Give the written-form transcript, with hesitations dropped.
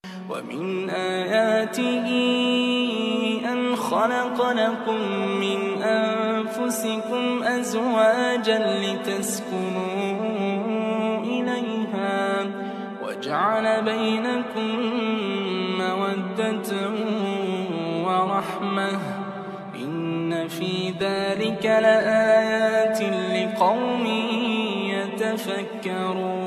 ومن آياته أن خلق لكم من أنفسكم أزواجا لتسكنوا إليها وجعل بينكم مودة ورحمة إن في ذلك لآيات لقوم يتفكرون